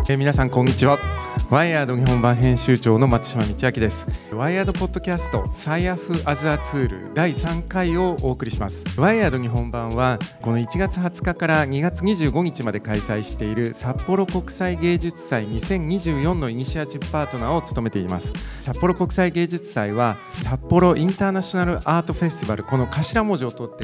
皆さんこんにちは。ワイヤード日本版編集長の松島道明です。ワイヤードポッドキャストSciAf as a Tool第3回をお送りします。ワイヤード日本版はこの1月20日から2月25日まで開催している札幌国際芸術祭2024のイニシアチブパートナーを務めています。札幌国際芸術祭は札幌インターナショナルアートフェスティバル、この頭文字を取って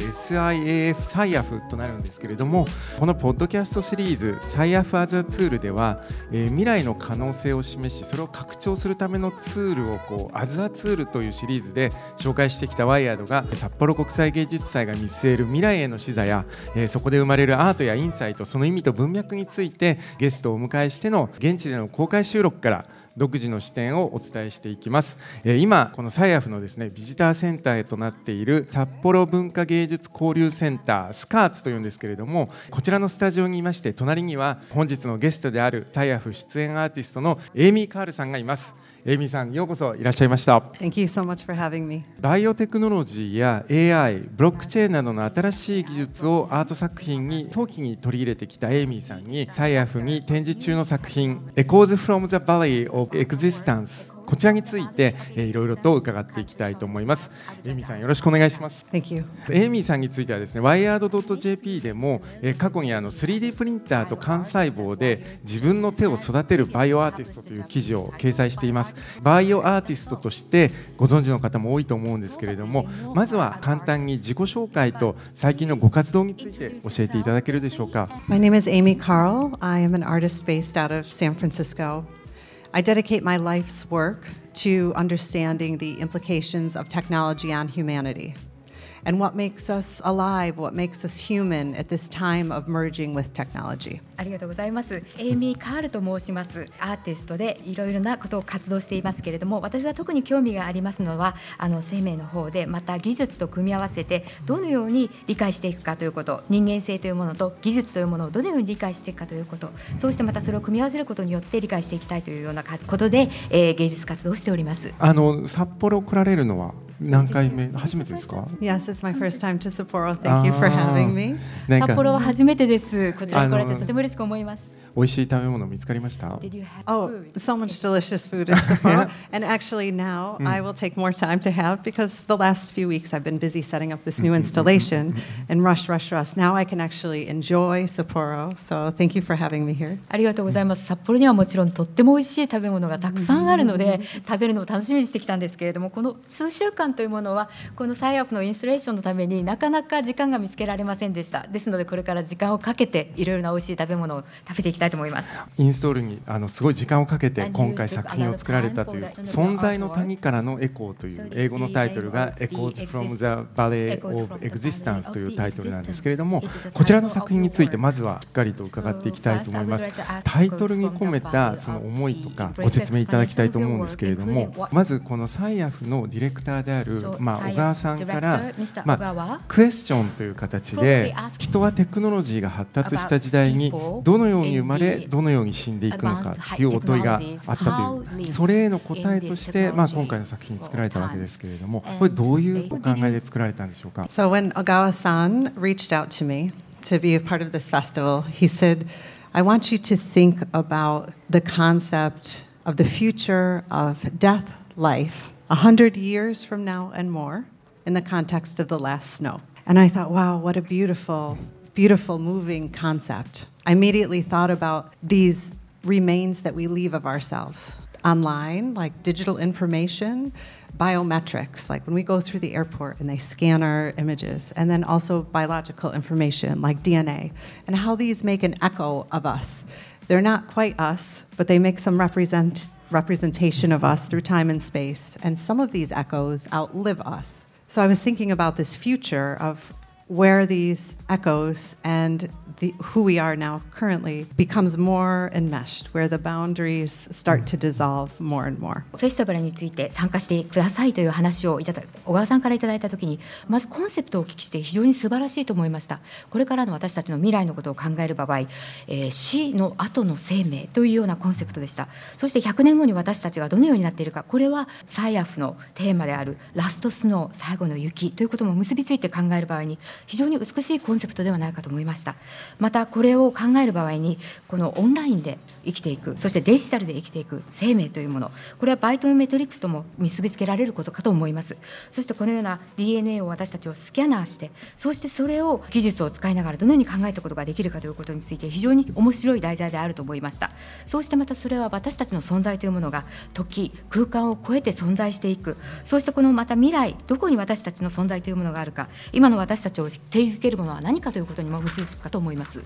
SIAF となるんですけれども、このポッドキャストシリーズSciAf as a Toolでは、未来の可能性を示し、それを拡張するためのツールをas a Toolというシリーズで紹介してきたワイヤードが、札幌国際芸術祭が見据える未来への視座や、そこで生まれるアートやインサイト、その意味と文脈についてゲストをお迎えしての現地での公開収録から独自の視点をお伝えしていきます。今このSciAfのですね、ビジターセンターへとなっている札幌文化芸術交流センタースカーツというんですけれども、こちらのスタジオにいまして、隣には本日のゲストであるSciAf出演アーティストのエイミー・カールさんがいます。エイミーさん、ようこそいらっしゃいました。 Thank you so much for having me. バイオテクノロジーや AI、ブロックチェーンなどの新しい技術をアート作品に早期に取り入れてきたエイミーさんに、SciAfに展示中の作品 Echoes from the Valley of Existence、こちらについていろいろと伺っていきたいと思います。エイミーさん、よろしくお願いします。 Thank you. エイミーさんについてはですね、wired.jp でも過去に3D プリンターと幹細胞で自分の手を育てるバイオアーティストという記事を掲載しています。バイオアーティストとしてご存知の方も多いと思うんですけれども、まずは簡単に自己紹介と最近のご活動について教えていただけるでしょうか。 My name is Amy Carl. I am an artist based out of San Francisco. I dedicate my life's work to understanding the implications of technology on humanity and what makes us alive, what makes us human at this time of merging with technology. ありがとうございます。エイミー・カールと申します。アーティストでいろいろなことを活動していますけれども、私は特に興味がありますのは生命の方で、また技術と組み合わせてどのように理解していくかということ、人間性というものと技術というものをどのように理解していくかということ、そうしてまたそれを組み合わせることによって理解していきたいというようなことで、芸術活動をしております。 札幌来られるのは何回目、初めてですか？ Yes, it's my first time to Sapporo. Thank you for having me. 札幌は初めてです。こちらに来られてとても嬉しく思います。 美味しい食べ物見つかりました？ Oh, so much delicious food in Sapporo. And actually now I will take more time to have, because the last few weeks I've been busy setting up this new installation and rush. Now I can actually enjoy Sapporo. So thank you for having me here. ありがとうございます。札幌にはもちろんとっても美味しい食べ物がたくさんあるので、食べるのを楽しみにしてきたんですけれども、この数週間というものはこのSciAfのインストレーションのためになかなか時間が見つけられませんでした。ですのでこれから時間をかけていろいろな美味しい食べ物を食べていきたいと思います。 インストールにすごい時間をかけて今回作品を作られたという、存在の谷からのエコーという英語のタイトルが Echoes from the Valley of Existence というタイトルなんですけれども、こちらの作品についてまずはしっかりと伺っていきたいと思います。タイトルに込めたその思いとかご説明いただきたいと思うんですけれども、まずこのSciAfのディレクターである小川さんから、クエスチョンという形で、人はテクノロジーが発達した時代にどのように生まれどのように死んでいくのかというお問いがあったという、それへの答えとして、今回の作品作られたわけですけれども、これどういうお考えで作られたんでしょうか。 So when Ogawa-san reached out to me to be a part of this festival, he said, I want you to think about the concept of the future of death, life, 100 years from now and more, in the context of the last snow. And I thought, wow, what a beautiful, moving concept. I immediately thought about these remains that we leave of ourselves online, like digital information, biometrics, like when we go through the airport and they scan our images, and then also biological information like DNA, and how these make an echo of us. They're not quite us, but they make some representation of us through time and space, and some of these echoes outlive us. So I was thinking about this future of where these echoes and who we are now currently becomes more enmeshed, where the boundaries start to dissolve more and more. フェスティバルについて参加してくださいという話を小川さんからいただいたときに、まずコンセプトをお聞きして非常に素晴らしいと思いました。これからの私たちの未来のことを考える場合、死の後の生命というようなコンセプトでした。そして100年後に私たちがどのようになっているか、これはSciAfのテーマであるラストスノー、最後の雪ということも結びついて考える場合に、 非常に美しいコンセプトではないかと思いました。またこれを考える場合にこのオンラインで生きていく、そしてデジタルで生きていく生命というもの、これはバイオメトリックスとも結びつけられることかと思います。そしてこのような DNA を私たちをスキャナーして、そしてそれを技術を使いながらどのように考えたことができるかということについて非常に面白い題材であると思いました。そうしてまたそれは私たちの存在というものが時空間を超えて存在していく、そうしてこのまた未来、どこに私たちの存在というものがあるか、今の私たちを定義づけるものは何かということにも結びつくかと思います。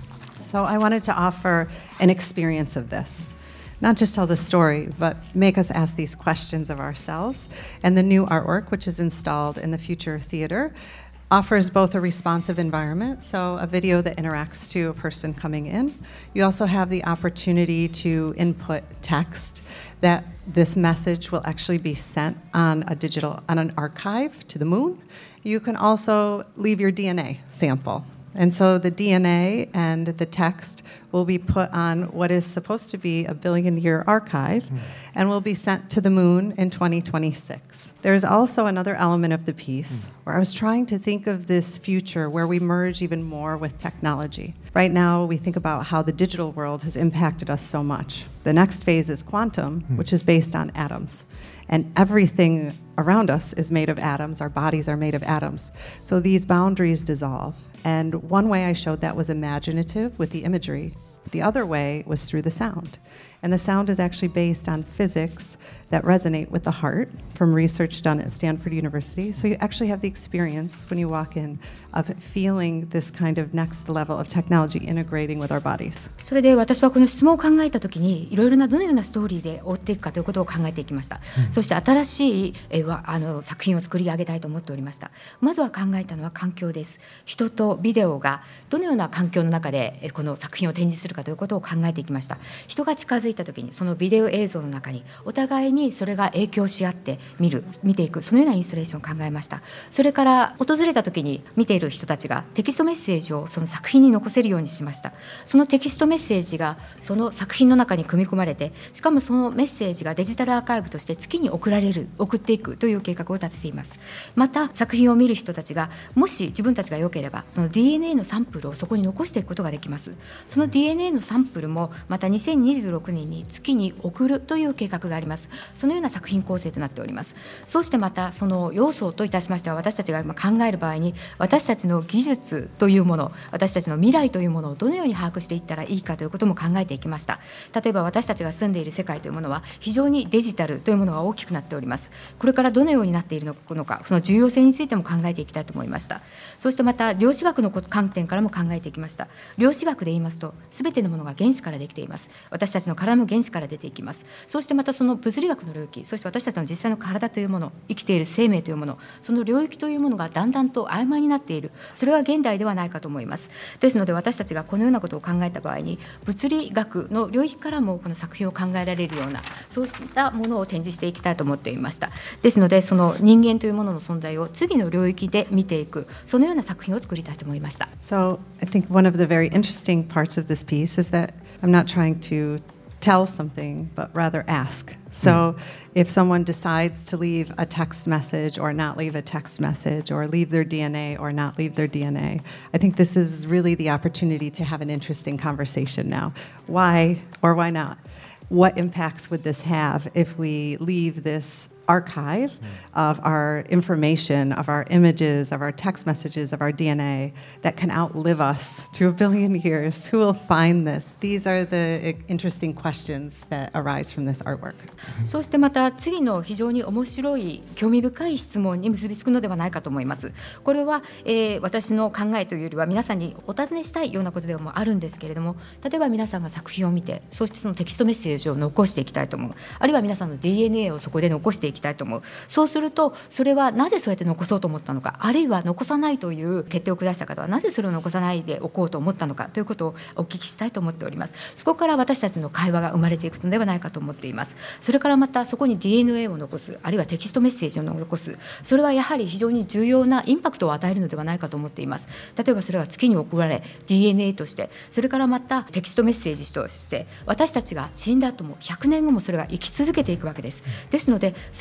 So I wanted to offer an experience of this. Not just tell the story, but make us ask these questions of ourselves. And the new artwork, which is installed in the Future Theater, offers both a responsive environment, so a video that interacts to a person coming in. You also have the opportunity to input text that this message will actually be sent on an archive to the moon. You can also leave your DNA sample. And so the DNA and the text will be put on what is supposed to be a billion-year archive and will be sent to the moon in 2026. There's also another element of the piece where I was trying to think of this future where we merge even more with technology. Right now, we think about how the digital world has impacted us so much. The next phase is quantum, which is based on atoms. And everything around us is made of atoms. Our bodies are made of atoms. So these boundaries dissolve. And one way I showed that was imaginative with the imagery. The other way was through the sound. And the sound is actually based on physics that resonate with the heart from research done at Stanford University. So you actually have the experience when you walk in of feeling this kind of next level of technology integrating with our bodies. それで私はこの質問を考えたときにいろいろなどのようなストーリーで追っていくかということを考えていきました。そして新しい作品を作り上げたいと思っておりました。まずは考えたのは環境です。人とビデオがどのような環境の中でこの作品を展示するかということを考えていきました。人が近づいたときにそのビデオ映像の中にお互いにそれが影響し合って見ていく、そのようなインストレーションを考えました。それから訪れたときに見ている人たちがテキストメッセージをその作品に残せるようにしました。そのテキストメッセージがその作品の中に組み込まれて、しかもそのメッセージがデジタルアーカイブとして月に送っていくという計画を立てています。また作品を見る人たちがもし自分たちが良ければその DNA のサンプルをそこに残していくことができます。その DNA のサンプルもまた2026年に月に送るという計画があります。そのような作品構成となっております。そしてまたその要素といたしましては、私たちが考える場合に私たちの技術というもの、私たちの未来というものをどのように把握していったらいいかということも考えていきました。例えば私たちが住んでいる世界というものは非常にデジタルというものが大きくなっております。これからどのようになっているのか、その重要性についても考えていきたいと思いました。そしてまた量子学の観点からも考えていきました。量子学で言いますと全てのものが原子からできています。私たちの体も原子から出ていきます。そしてまたその物理学の領域、そして私たちの実際の体というもの、生きている生命というもの、その領域というものがだんだんと曖昧になっている、それが現代ではないかと思います。ですので私たちがこのようなことを考えた場合に物理学の領域からもこの作品を考えられるようなそうしたものを展示していきたいと思っていました。ですのでその人間というものの存在を次の領域で見ていく、そのような作品を作りたいと思いました。 So I think one of the very interesting parts of this piece is that I'm not trying to tell something, but rather ask. So if someone decides to leave a text message or not leave a text message or leave their DNA or not leave their DNA, I think this is really the opportunity to have an interesting conversation now. Why or why not? What impacts would this have if we leave this archive of our information, of our images, of our text messages, of our DNA that can outlive us to 1 billion years? Who will find this? These are the interesting questions that arise from this artwork. そしてまた次の非常に面白い興味深い質問に結びつくのではないかと思います。これは、私の考えというよりは皆さんにお尋ねしたいようなことでもあるんですけれども、例えば皆さんが作品を見てそしてそのテキストメッセージを残していきたいと思う、あるいは皆さんの DNA をそこで残していきたいと思う。そうするとそれはなぜそうやって残そうと思ったのか、あるいは残さないという決定を下した方はなぜそれを残さないでおこうと思ったのかということをお聞きしたいと思っております。そこから私たちの会話が生まれていくのではないかと思っています。それからまたそこに DNA を残す、あるいはテキストメッセージを残す、それはやはり非常に重要なインパクトを与えるのではないかと思っています。例えばそれが月に送られ DNA として、それからまたテキストメッセージとして私たちが死んだ後も100年後もそれが生き続けていくわけです。ですのでそ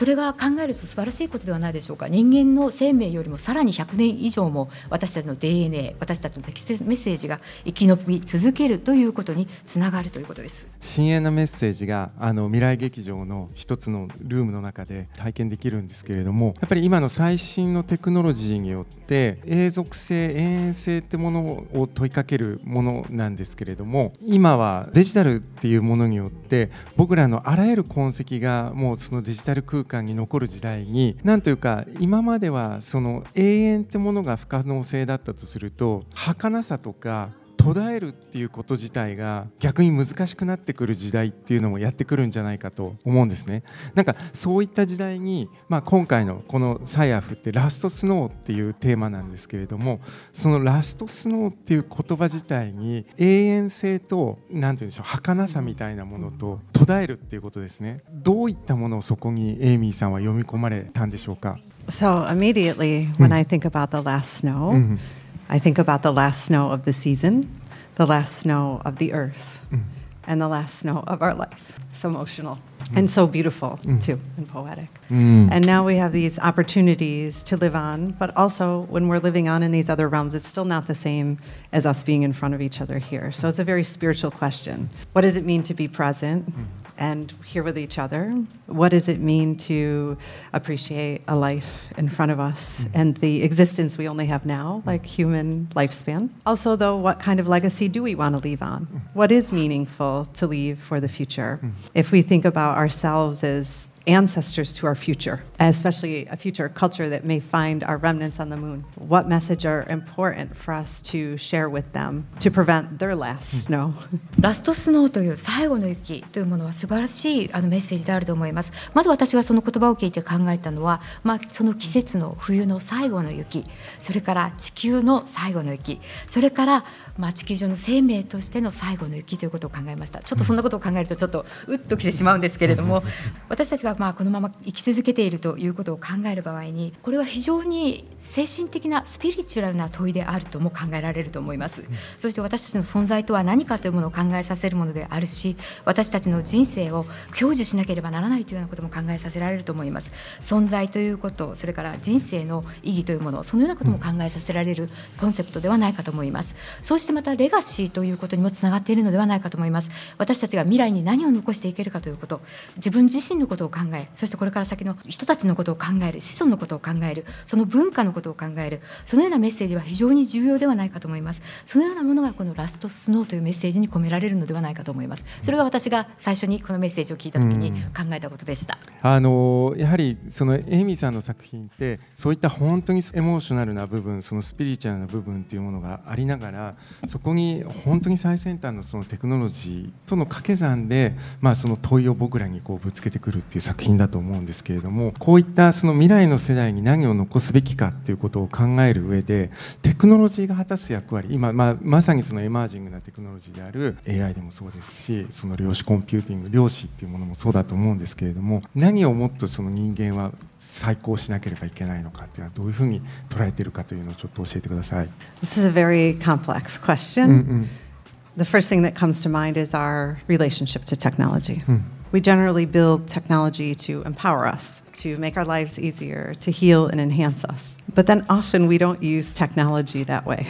それが考えると素晴らしいことではないでしょうか。人間の生命よりもさらに100年以上も私たちの DNA、 私たちの適切メッセージが生き延び続けるということにつながるということです。 深遠なメッセージが未来劇場の一つのルームの中で体験できるんですけれども、やっぱり今の最新のテクノロジーによって永続性、永遠性ってものを問いかけるものなんですけれども、今はデジタルっていうものによって僕らのあらゆる痕跡がもうそのデジタル空間に残る時代に、なんというか今まではその永遠ってものが不可能性だったとすると、儚さとか途絶えるっていうこと自体が逆に難しくなってくる時代っていうのもやってくるんじゃないかと思うんですね。なんかそういった時代に、今回のこのサイアフってラストスノーっていうテーマなんですけれども、そのラストスノーっていう言葉自体に永遠性となんていうんでしょう、儚さみたいなものと途絶えるっていうことですね。どういったものをそこにエイミーさんは読み込まれたんでしょうか。 So immediately when I think about the last snow, I think about the last snow of the season, the last snow of the earth, and the last snow of our life. So emotional and so beautiful too, and poetic. And now we have these opportunities to live on, but also when we're living on in these other realms, it's still not the same as us being in front of each other here. So it's a very spiritual question. What does it mean to be present and here with each other? What does it mean to appreciate a life in front of us and the existence we only have now, like human lifespan? Also, though, what kind of legacy do we want to leave on? What is meaningful to leave for the future? If we think about ourselves as ancestors to our future, especially a future culture that may find our remnants on the moon, what message are important for us to share with them to prevent their last snow? ラストスノーという最後の雪というものは素晴らしいメッセージであると思います。まず私がその言葉を聞いて考えたのは、その季節の冬の最後の雪、それから地球の最後の雪、それから、地球上の生命としての最後の雪ということを考えました。ちょっとそんなことを考えるとちょっとうっときてしまうんですけれども、私たちがこのまま生き続けているということを考える場合に、これは非常に精神的なスピリチュアルな問いであるとも考えられると思います。そして私たちの存在とは何かというものを考えさせるものであるし、私たちの人生を享受しなければならないというようなことも考えさせられると思います。存在ということ、それから人生の意義というもの、そのようなことも考えさせられるコンセプトではないかと思います。そしてまたレガシーということにもつながっているのではないかと思います。私たちが未来に何を残していけるかということ、自分自身のことを考え、そしてこれから先の人たちのことを考える、子孫のことを考える、その文化のことを考える、そのようなメッセージは非常に重要ではないかと思います。そのようなものがこのラストスノーというメッセージに込められるのではないかと思います。それが私が最初にこのメッセージを聞いたときに考えたことでした。 やはりそのエイミーさんの作品ってそういった本当にエモーショナルな部分、そのスピリチュアルな部分っていうものがありながら、そこに本当に最先端のそのテクノロジーとの掛け算で、その問いを僕らにこうぶつけてくるっていう作品だと思うんですけれども、こういったその未来の世代に何を残すべきかっていうことを考える上で、テクノロジーが果たす役割、今、まさにそのエマージングなテクノロジーである AI でもそうですし、その量子コンピューティング、量子っていうものもそうだと思うんですけれども、何をもっとその人間は再興しなければいけないのかっていうのはどういうふうに捉えているかというのをちょっと教えてください。 This is a very complex question. The first thing that comes to mind is our relationship to technology. We generally build technology to empower us, to make our lives easier, to heal and enhance us. But then often we don't use technology that way.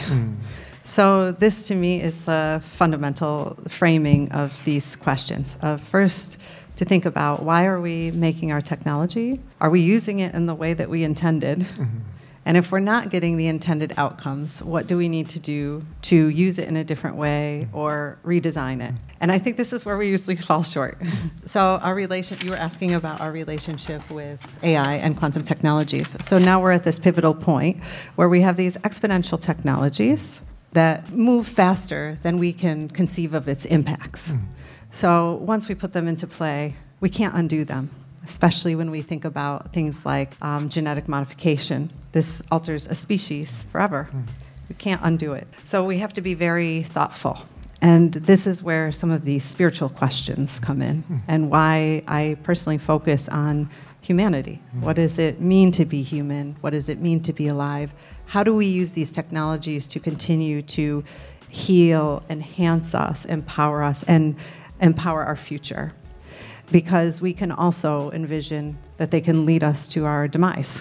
So this to me is the fundamental framing of these questions. First, to think about why are we making our technology? Are we using it in the way that we intended? And if we're not getting the intended outcomes, what do we need to do to use it in a different way or redesign it? And I think this is where we usually fall short. So you were asking about our relationship with AI and quantum technologies. So now we're at this pivotal point where we have these exponential technologies that move faster than we can conceive of its impacts. So once we put them into play, we can't undo them, especially when we think about things like genetic modification. This alters a species forever. We can't undo it. So we have to be very thoughtful. And this is where some of these spiritual questions come in, and why I personally focus on humanity. What does it mean to be human? What does it mean to be alive? How do we use these technologies to continue to heal, enhance us, empower and empower our future? because we can also envision that they can lead us to our demise.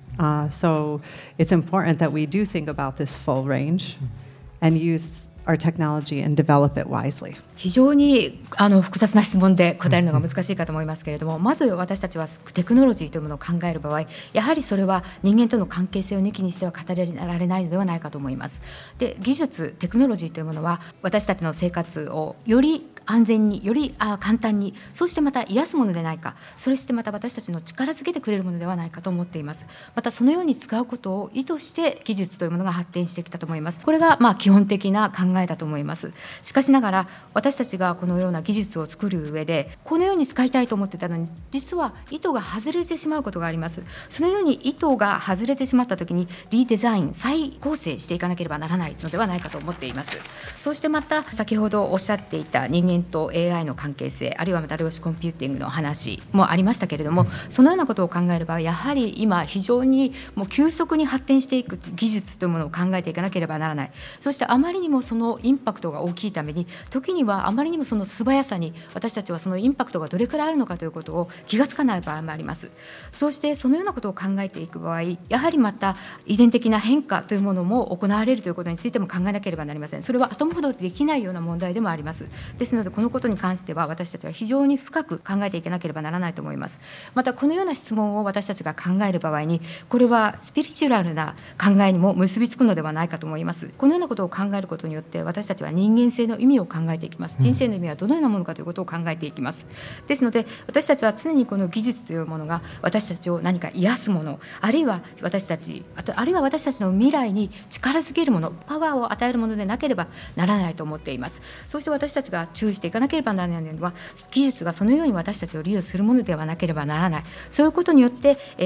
So it's important that we do think about this full range and use our technology and develop it wisely. 非常に複雑な質問で答えるのが難しいかと思いますけれども、まず私たちはテクノロジーというものを考える場合、やはりそれは人間との関係性を抜きにしては語られないのではないかと思います。で、技術、テクノロジーというものは私たちの生活をより安全に、より簡単に、そしてまた癒すものでないか、そしてまた私たちの力づけてくれるものではないかと思っています。またそのように使うことを意図して技術というものが発展してきたと思います。これが基本的な考えだと思います。しかしながら私たちがこのような技術を作る上でこのように使いたいと思ってたのに、実は意図が外れてしまうことがあります。そのように意図が外れてしまったときにリデザイン、再構成していかなければならないのではないかと思っています。そしてまた先ほどおっしゃっていた人間と AI の関係性、あるいはまた量子コンピューティングの話もありましたけれども、そのようなことを考えればやはり今非常にもう急速に発展していく技術というものを考えていかなければならない。そしてあまりにもそのインパクトが大きいために、時にはあまりにもその素早さに私たちはそのインパクトがどれくらいあるのかということを気がつかない場合もあります。そうしてそのようなことを考えていく場合、やはりまた遺伝的な変化というものも行われるということについても考えなければなりません。それは後戻りできないような問題でもあります。ですのでこのことに関しては私たちは非常に深く考えていかなければならないと思います。またこのような質問を私たちが考える場合に、これはスピリチュアルな考えにも結びつくのではないかと思います。このようなことを考えることによって私たちは人間性の意味を考えていきます。人生の意味はどのようなものかということを考えていきます。ですので私たちは常にこの技術というものが私たちを何か癒すもの、あるいは私たちの未来に力づけるもの、パワーを与えるものでなければならないと思っています。そして私たちが注意していかなければならないのは、技術がそのように私たちを利用するものではなければならない。そういうことによって、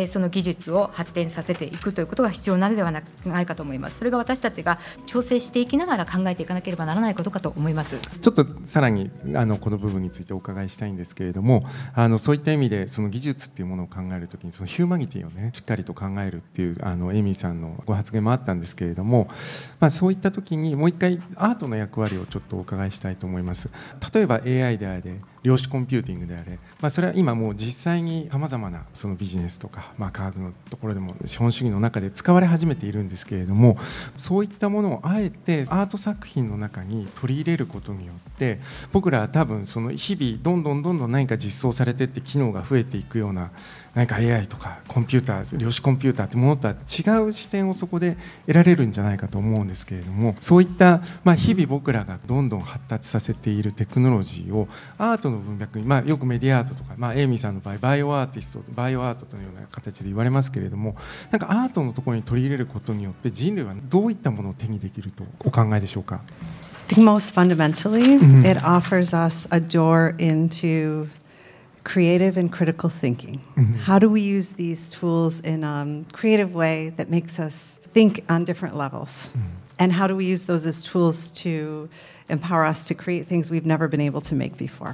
その技術を発展させていくということが必要なのではないかと思います。それが私たちが調整していきながら考えていかなければならないことかと思います。 ちょっとさらにこの部分についてお伺いしたいんですけれども、そういった意味でその技術っていうものを考えるときにそのヒューマニティをねしっかりと考えるっていうエイミーさんのご発言もあったんですけれども、そういったときにもう一回アートの役割をちょっとお伺いしたいと思います。例えば AI であれ量子コンピューティングであれ、それは今もう実際にさまざまなそのビジネスとか、科学のところでも資本主義の中で使われ始めているんですけれども、そういったものをあえてアート作品の中に取り入れることによって僕らは多分その日々どんどん何か実装されていって機能が増えていくような何か AI とかコンピューター、量子コンピューターってものとは違う視点をそこで得られるんじゃないかと思うんですけれども、そういった、日々僕らがどんどん発達させているテクノロジーをアートの文脈に、よくメディアアートとか、エイミーさんの場合バイオアーティスト、バイオアートというような形で言われますけれども、なんかアートのところに取り入れることによって人類はどういったものを手にできるとお考えでしょうか。 I think most fundamentally, it offers us a door into creative and critical thinking. How do we use these tools in a creative way that makes us think on different levels? And how do we use those as tools to empower us to create things we've never been able to make before?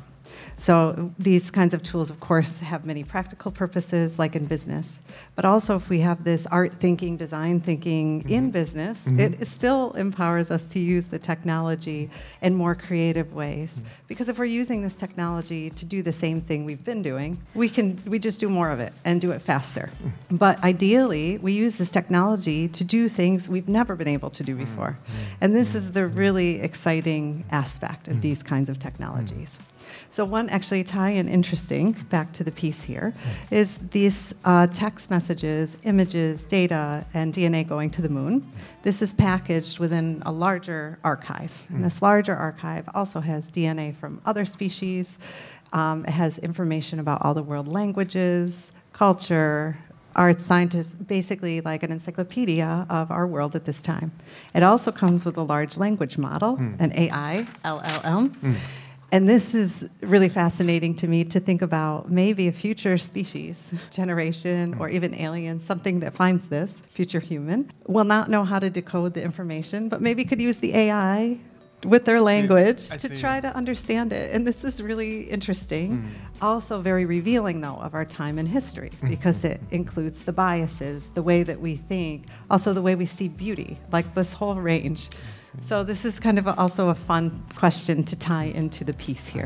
So these kinds of tools, of course, have many practical purposes, like in business. But also, if we have this art thinking, design thinking in business, it still empowers us to use the technology in more creative ways. Because if we're using this technology to do the same thing we've been doing, we just do more of it and do it faster. But ideally, we use this technology to do things we've never been able to do before. And this is the really exciting aspect of these kinds of technologies. So one actually tie-in interesting, back to the piece here, is these text messages, images, data, and DNA going to the moon. This is packaged within a larger archive. And this larger archive also has DNA from other species. It has information about all the world languages, culture, arts, scientists, basically like an encyclopedia of our world at this time. It also comes with a large language model, an AI, LLM. And this is really fascinating to me to think about maybe a future species, generation, or even alien, something that finds this, future human, will not know how to decode the information, but maybe could use the AI with their language to try to understand it. And this is really interesting. Also very revealing, though, of our time in history, because it includes the biases, the way that we think, also the way we see beauty, like this whole range. So this is kind of also a fun question to tie into the piece here.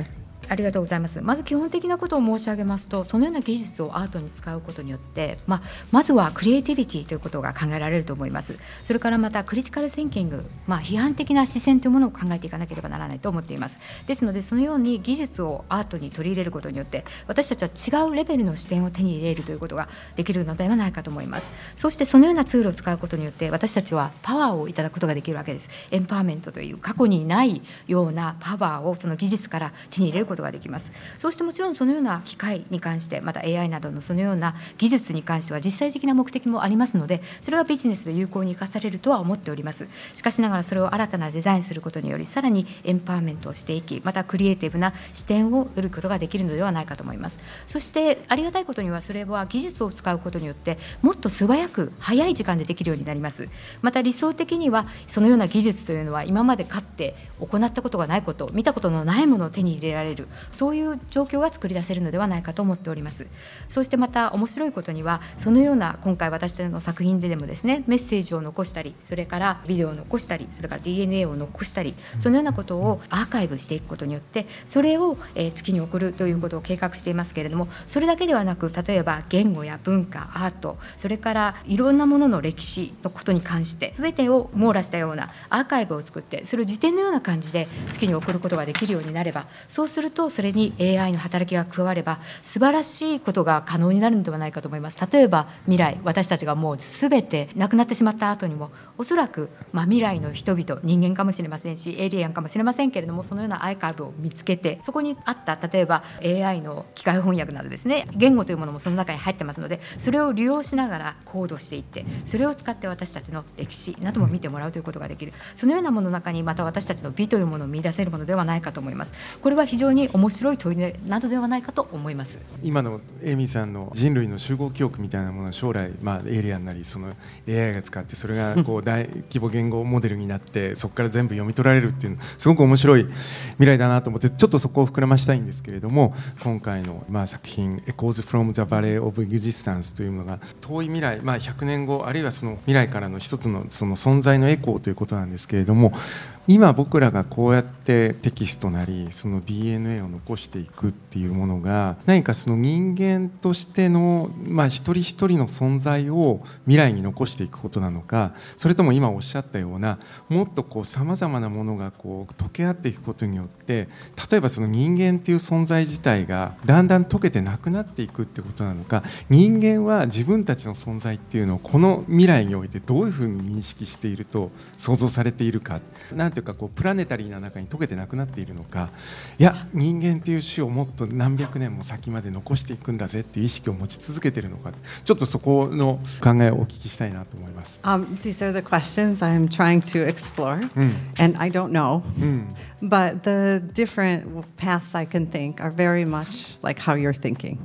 ありがとうございます。まず基本的なことを申し上げますと、そのような技術をアートに使うことによって、まずはクリエイティビティということが考えられると思います。それからまたクリティカルシンキング、批判的な視線というものを考えていかなければならないと思っています。ですのでそのように技術をアートに取り入れることによって私たちは違うレベルの視点を手に入れるということができるのではないかと思います。そしてそのようなツールを使うことによって私たちはパワーをいただくことができるわけです。エンパワーメントという過去にないようなパワーをその技術から手に入れることができます。そうしてもちろんそのような機械に関して、また AI などのそのような技術に関しては実際的な目的もありますので、それがビジネスで有効に生かされるとは思っております。しかしながらそれを新たなデザインすることによりさらにエンパワーメントをしていき、またクリエイティブな視点を得ることができるのではないかと思います。そしてありがたいことにはそれは技術を使うことによってもっと素早く早い時間でできるようになります。また理想的にはそのような技術というのは今までかって行ったことがないこと、見たことのないものを手に入れられる、そういう状況が作り出せるのではないかと思っております。そしてまた面白いことにはそのような今回私たちの作品でもですね、メッセージを残したり、それからビデオを残したり、それから DNA を残したり、そのようなことをアーカイブしていくことによってそれを月に送るということを計画していますけれども、それだけではなく例えば言語や文化、アート、それからいろんなものの歴史のことに関して全てを網羅したようなアーカイブを作って、それを辞典のような感じで月に送ることができるようになれば、そうするとそれに AI の働きが加われば素晴らしいことが可能になるのではないかと思います。例えば未来、私たちがもう全て亡くなってしまった後にもおそらく未来の人々、人間かもしれませんしエイリアンかもしれませんけれども、そのようなアーカイブを見つけてそこにあった例えば AI の機械翻訳などですね、言語というものもその中に入ってますので、それを利用しながらコードしていって、それを使って私たちの歴史なども見てもらうということができる、そのようなものの中にまた私たちの美というものを見出せるものではないかと思います。これは非常に面白い問いなどではないかと思います。 今のエイミーさんの人類の集合記憶みたいなものは将来、エイリアンなりその AI が使ってそれがこう大規模言語モデルになってそこから全部読み取られるっていうのすごく面白い未来だなと思って、ちょっとそこを膨らましたいんですけれども、今回の作品 Echoes from the Valley of Existence というのが遠い未来、100年後あるいはその未来からの一つのその存在のエコーということなんですけれども、今僕らがこうやってテキストなりその DNA を残していくっていうものが何かその人間としての一人一人の存在を未来に残していくことなのか、それとも今おっしゃったようなもっとこうさまざまなものがこう溶け合っていくことによって、例えばその人間っていう存在自体がだんだん溶けてなくなっていくってことなのか、人間は自分たちの存在っていうのをこの未来においてどういうふうに認識していると想像されているか、なんていうかこうプラネタリーな中に溶けてなくなっているのか、いや人間っていう種をもっと何百年も先まで残していくんだぜっていう意識を持ち続けているのか、ちょっとそこの考えをお聞きしたいなと思います。 These are the questions I'm trying to explore, and I don't know, but the different paths I can think are very much like how you're thinking.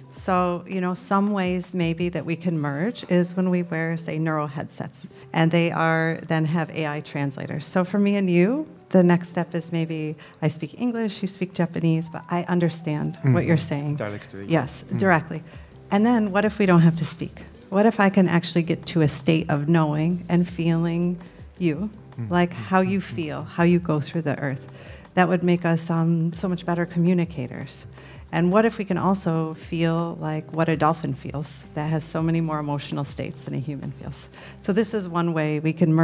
So, some ways maybe that we can merge is when we wear, say, neural headsets, and they then have AI translators. So for me and you, the next step is maybe I speak English, you speak Japanese, but I understand what you're saying. Directly. Yes, directly. And then what if we don't have to speak? What if I can actually get to a state of knowing and feeling you, like how you feel, how you go through the earth? That would make us so much better communicators. And what if we can also feel like what a dolphin feels that has so many more emotional states than a human feels? So this is one way we can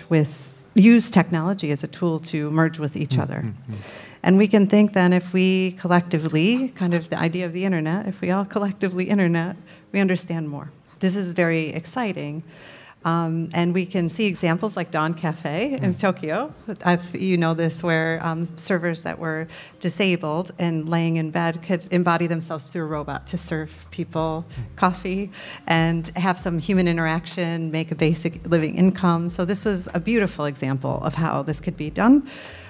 use technology as a tool to merge with each other. And we can think then if we collectively, kind of the idea of the internet, if we all collectively internet, we understand more. This is very exciting. And we can see examples like Dawn Cafe in Tokyo. You know this, where servers that were disabled and laying in bed could embody themselves through a robot to serve people coffee and have some human interaction, make a basic living income. So this was a beautiful example of how this could be done.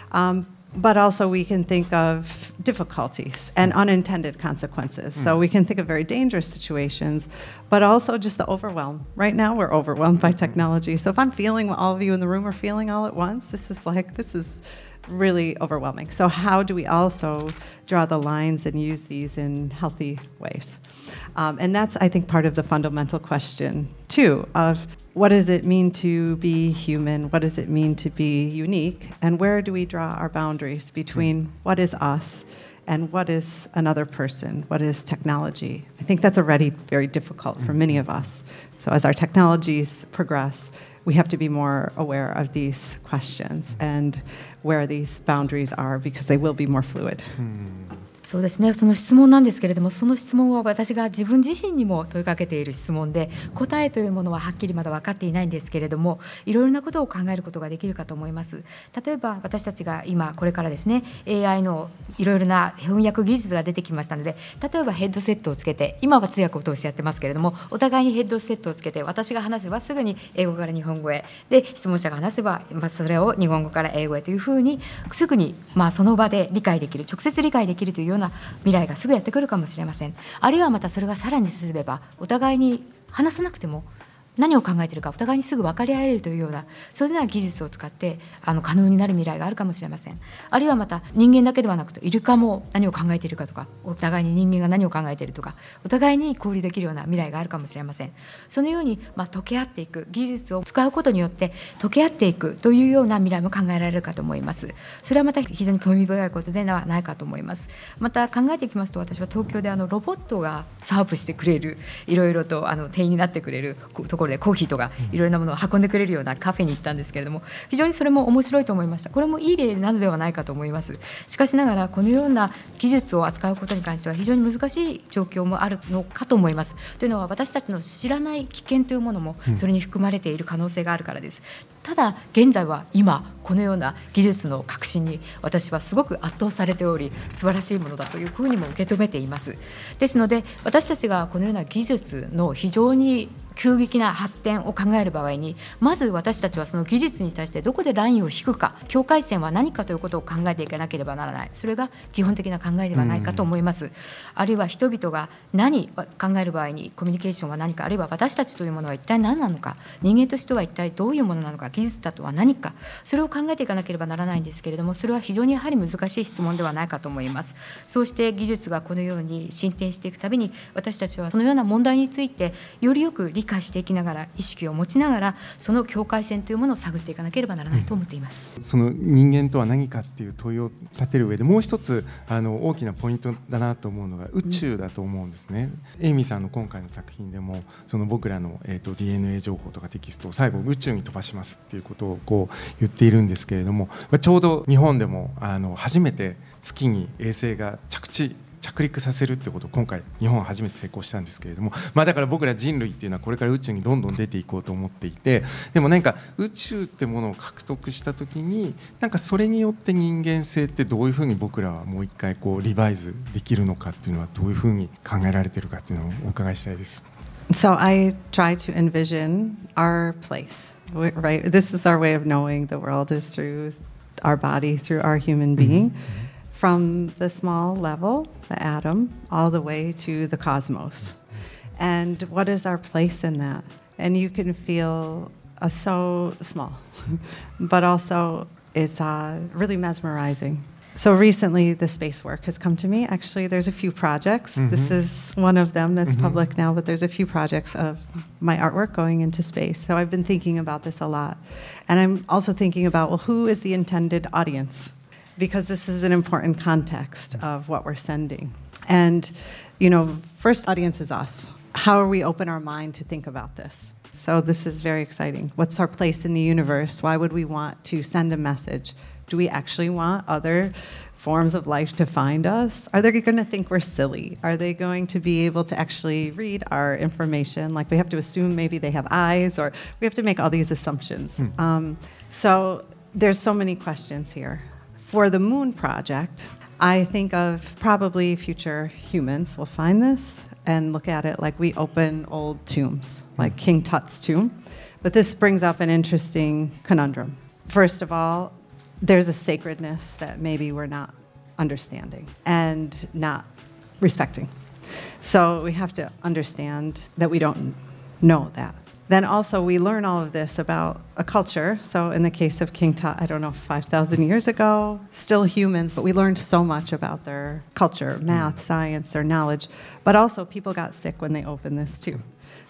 But also we can think of difficulties and unintended consequences. So we can think of very dangerous situations, but also just the overwhelm. Right now we're overwhelmed by technology. So if I'm feeling what all of you in the room are feeling all at once, this is really overwhelming. So how do we also draw the lines and use these in healthy ways? And that's, I think, part of the fundamental question, too, of what does it mean to be human? What does it mean to be unique? And where do we draw our boundaries between what is us And what is another person? What is technology? I think that's already very difficult for many of us. So as our technologies progress, we have to be more aware of these questions and where these boundaries are because they will be more fluid. そうですね、その質問なんですけれども、その質問は私が自分自身にも問いかけている質問で、答えというものははっきりまだ分かっていないんですけれども、いろいろなことを考えることができるかと思います。例えば私たちが今これからですね、 AI のいろいろな翻訳技術が出てきましたので、例えばヘッドセットをつけて、今は通訳を通してやってますけれども、お互いにヘッドセットをつけて、私が話せばすぐに英語から日本語へで、質問者が話せば、それを日本語から英語へというふうにすぐに、その場で理解できる、直接理解できるというような未来がすぐやってくるかもしれません。あるいはまたそれがさらに進めば、お互いに話さなくても何を考えているかお互いにすぐ分かり合えるというような、そういうような技術を使って可能になる未来があるかもしれません。あるいはまた人間だけではなくて、イルカも何を考えているかとか、お互いに人間が何を考えているとか、お互いに交流できるような未来があるかもしれません。そのように、溶け合っていく、技術を使うことによって溶け合っていくというような未来も考えられるかと思います。それはまた非常に興味深いことではないかと思います。また考えていきますと、私は東京でロボットがサーブしてくれる、いろいろと店員になってくれるところでコーヒーとかいろいろなものを運んでくれるようなカフェに行ったんですけれども、非常にそれも面白いと思いました。これもいい例なのではないかと思います。しかしながら、このような技術を扱うことに関しては非常に難しい状況もあるのかと思います。というのは、私たちの知らない危険というものもそれに含まれている可能性があるからです。ただ現在は今このような技術の革新に私はすごく圧倒されており、素晴らしいものだというふうにも受け止めています。ですので、私たちがこのような技術の非常に急激な発展を考える場合に、まず私たちはその技術に対してどこでラインを引くか、境界線は何かということを考えていかなければならない。それが基本的な考えではないかと思います。あるいは人々が何を考える場合にコミュニケーションは何か、あるいは私たちというものは一体何なのか、人間としては一体どういうものなのか、技術だとは何か、それを考えていかなければならないんですけれども、それは非常にやはり難しい質問ではないかと思います。そうして技術がこのように進展していくたびに、私たちはそのような問題についてよりよく理解していきながら、意識を持ちながら、その境界線というものを探っていかなければならないと思っています。 その人間とは何かっていう問いを立てる上で、もう一つ大きなポイントだなと思うのが宇宙だと思うんですね。エイミーさんの今回の作品でも、その僕らの、DNA 情報とかテキストを最後宇宙に飛ばしますっていうことをこう言っているんですけれども、ちょうど日本でも初めて月に衛星が着陸させるってことを今回日本は初めて成功したんですけれども、だから僕ら人類っていうのはこれから宇宙にどんどん出ていこうと思っていて、でもなんか宇宙ってものを獲得した時に、なんかそれによって人間性ってどういうふうに僕らはもう一回こうリバイズできるのかっていうのはどういうふうに考えられてるかっていうのをお伺いしたいです。 So I try to envision our place, right? This is our way of knowing the world is through our body, through our human being.From the small level, the atom, all the way to the cosmos. And what is our place in that? And you can feel so small, but also it's really mesmerizing. So recently the space work has come to me. Actually, there's a few projects. This is one of them that's public now, but there's a few projects of my artwork going into space. So I've been thinking about this a lot. And I'm also thinking about, well, who is the intended audience?Because this is an important context of what we're sending. And, first audience is us. How are we open our mind to think about this? So this is very exciting. What's our place in the universe? Why would we want to send a message? Do we actually want other forms of life to find us? Are they going to think we're silly? Are they going to be able to actually read our information? Like we have to assume maybe they have eyes, or we have to make all these assumptions. So there's so many questions here.For the Moon Project, I think of probably future humans will find this and look at it like we open old tombs, like King Tut's tomb. But this brings up an interesting conundrum. First of all, there's a sacredness that maybe we're not understanding and not respecting. So we have to understand that we don't know that.Then also we learn all of this about a culture. So in the case of King Tut, I don't know, 5,000 years ago, still humans, but we learned so much about their culture, math, science, their knowledge. But also people got sick when they opened this too.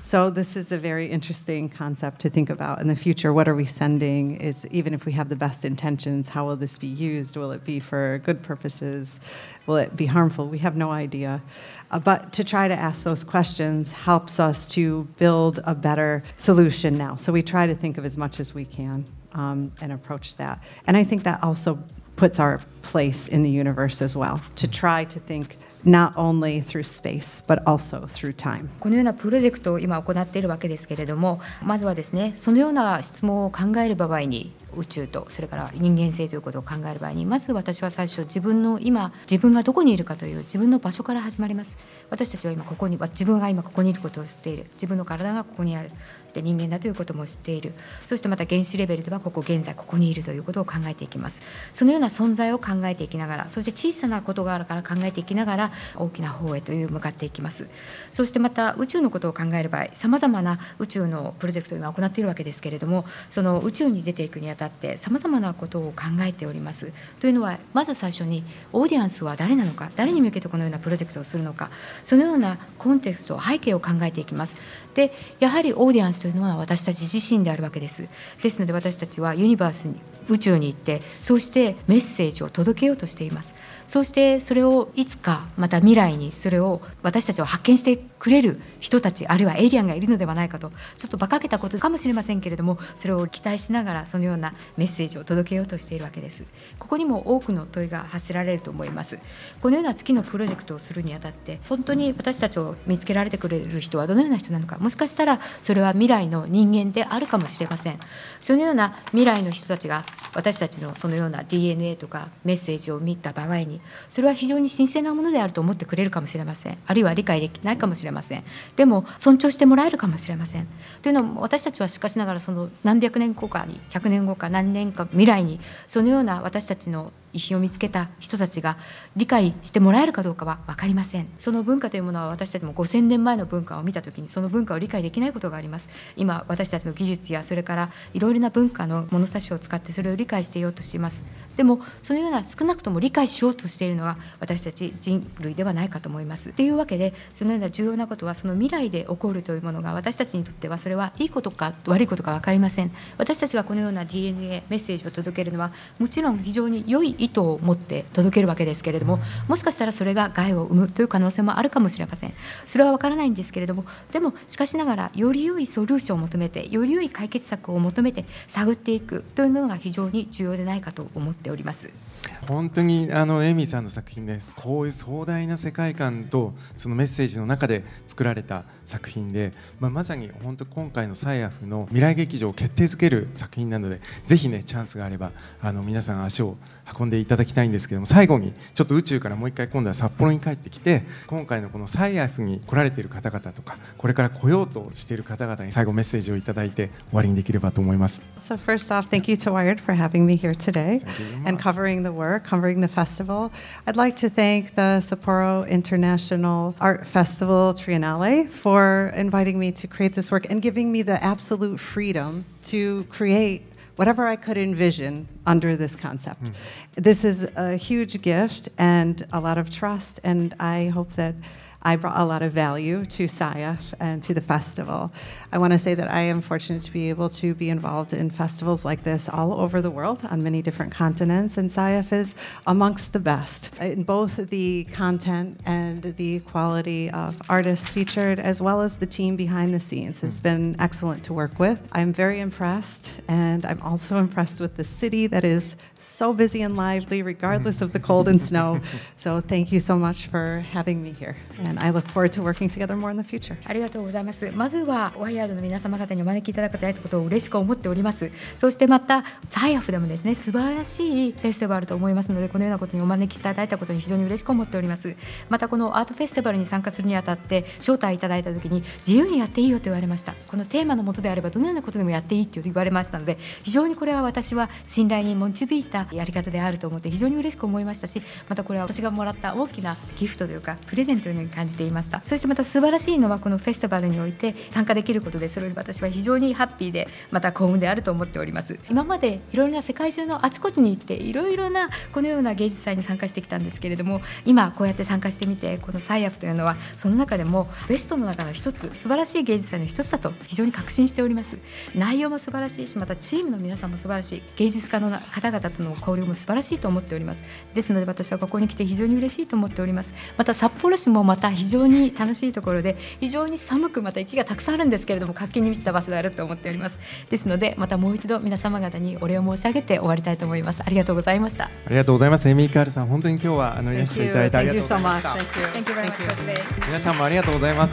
So this is a very interesting concept to think about in the future. What are we sending? Is even if we have the best intentions, how will this be used? Will it be for good purposes? Will it be harmful? We have no idea. But to try to ask those questions helps us to build a better solution now. So we try to think of as much as we can and approach that. And I think that also puts our place in the universe as well, to try to think not only through space, but also through time. このようなプロジェクトを今行っているわけですけれども、まずはですね、そのような質問を考える場合に宇宙とそれから人間性ということを考える場合に、まず私は最初自分がどこにいるかという自分の場所から始まります。私たちは今ここに、自分が今ここにいることを知っている、自分の体がここにある、そして人間だということも知っている、そしてまた原子レベルでは現在ここにいるということを考えていきます。そのような存在を考えていきながら、そして小さなことがあるから考えていきながら大きな方へという向かっていきます。そしてまた宇宙のことを考える場合、さまざまな宇宙のプロジェクトを今行っているわけですけれども、その宇宙に出ていくにあたってさまざまなことを考えております。というのは、まず最初にオーディエンスは誰なのか、誰に向けてこのようなプロジェクトをするのか、そのようなコンテクスト、背景を考えていきます。で、やはりオーディエンスというのは私たち自身であるわけです。ですので私たちはユニバースに、宇宙に行って、そうしてメッセージを届けようとしています。そうしてそれをいつかまた未来にそれを私たちを発見してくれる人たち、あるいはエイリアンがいるのではないかと、ちょっと馬鹿げたことかもしれませんけれども、それを期待しながらそのようなメッセージを届けようとしているわけです。ここにも多くの問いが発せられると思います。このような月のプロジェクトをするにあたって、本当に私たちを見つけられてくれる人はどのような人なのか、もしかしたらそれは未来の人間であるかもしれません。そのような未来の人たちが私たちのそのような DNA とかメッセージを見た場合に、それは非常に神聖なものであると思ってくれるかもしれません。あるいは理解できないかもしれません。でも尊重してもらえるかもしれません。というのは、私たちはしかしながらその何百年後かに、100年後か何年か未来に、そのような私たちの遺品を見つけた人たちが理解してもらえるかどうかは分かりません。その文化というものは、私たちも5000年前の文化を見たときにその文化を理解できないことがあります。今私たちの技術やそれからいろいろな文化の物差しを使ってそれを理解していようとしています。でもそのような少なくとも理解しようとしているのが私たち人類ではないかと思います。というわけで、そのような重要なことは、その未来で起こるというものが私たちにとってはそれはいいことか悪いことか分かりません。私たちがこのような DNA メッセージを届けるのはもちろん非常に良い意図を持って届けるわけですけれども、もしかしたらそれが害を生むという可能性もあるかもしれません。それは分からないんですけれども、でもしかしながらより良いソリューションを求めて、より良い解決策を求めて探っていくというのが非常に重要でないかと思っております。 本当にエミーさんの作品です。こういう壮大な世界観とそのメッセージの中で作られた作品で、まさに本当今回のサイアフの未来劇場を決定づける作品なので、ぜひねチャンスがあれば皆さん足を運んでいただきたいんですけども、最後にちょっと宇宙からもう一回今度は札幌に帰ってきて、今回のこのサイアフに来られている方々とか、これから来ようとしている方々に最後メッセージをいただいて終わりにできればと思います。 So first off, thank you to Wired for having me here today and covering the work, covering the festival. I'd like to thank the Sapporo International Art Festival Triennale for inviting me to create this work and giving me the absolute freedom to create whatever I could envision under this concept. This is a huge gift and a lot of trust, and I hope that I brought a lot of value to SIAF and to the festival. I want to say that I am fortunate to be able to be involved in festivals like this all over the world on many different continents, and SIAF is amongst the best in both the content and the quality of artists featured, as well as the team behind the scenes has been excellent to work with. I'm very impressed, and I'm also impressed with the city that is so busy and lively regardless of the cold and snow. So thank you so much for having me here. And I look forward to working together more in the future. ありがとうございます。まずはワイヤードの皆様方にお招きいただくということを嬉しく思っております。そしてまたサイアフでもですね、素晴らしいフェスティバルと思いますので、このようなことにお招きしていただいたことに非常に嬉しく思っております。またこのアートフェスティバルに参加するにあたって招待いただいた時に自由にやっていいよと言われました。このテーマのもとであればどのようなことでもやっていいと言われましたので、非常にこれは私は信頼に導いたやり方であると思って非常に嬉しく思いましたし、またこれは私がもらった大きなギフトというかプレゼントのように感感じていました。そしてまた素晴らしいのはこのフェスティバルにおいて参加できることで、それを私は非常にハッピーでまた幸運であると思っております。今までいろいろな世界中のあちこちに行っていろいろなこのような芸術祭に参加してきたんですけれども、今こうやって参加してみて、このサイアフというのはその中でもベストの中の一つ、素晴らしい芸術祭の一つだと非常に確信しております。内容も素晴らしいし、またチームの皆さんも素晴らしい、芸術家の方々との交流も素晴らしいと思っております。ですので私はここに来て非常に嬉しいと思っております。また札幌市もまた非常に楽しいところで、非常に寒く、また雪がたくさんあるんですけれども活気に満ちた場所であると思っております。ですのでまたもう一度皆様方にお礼を申し上げて終わりたいと思います。ありがとうございました。 ありがとうございます。エミー・カールさん、本当に今日はいらしていただいてありがとうございました。 Thank you so much. Thank you very much for today. 皆さんもありがとうございます。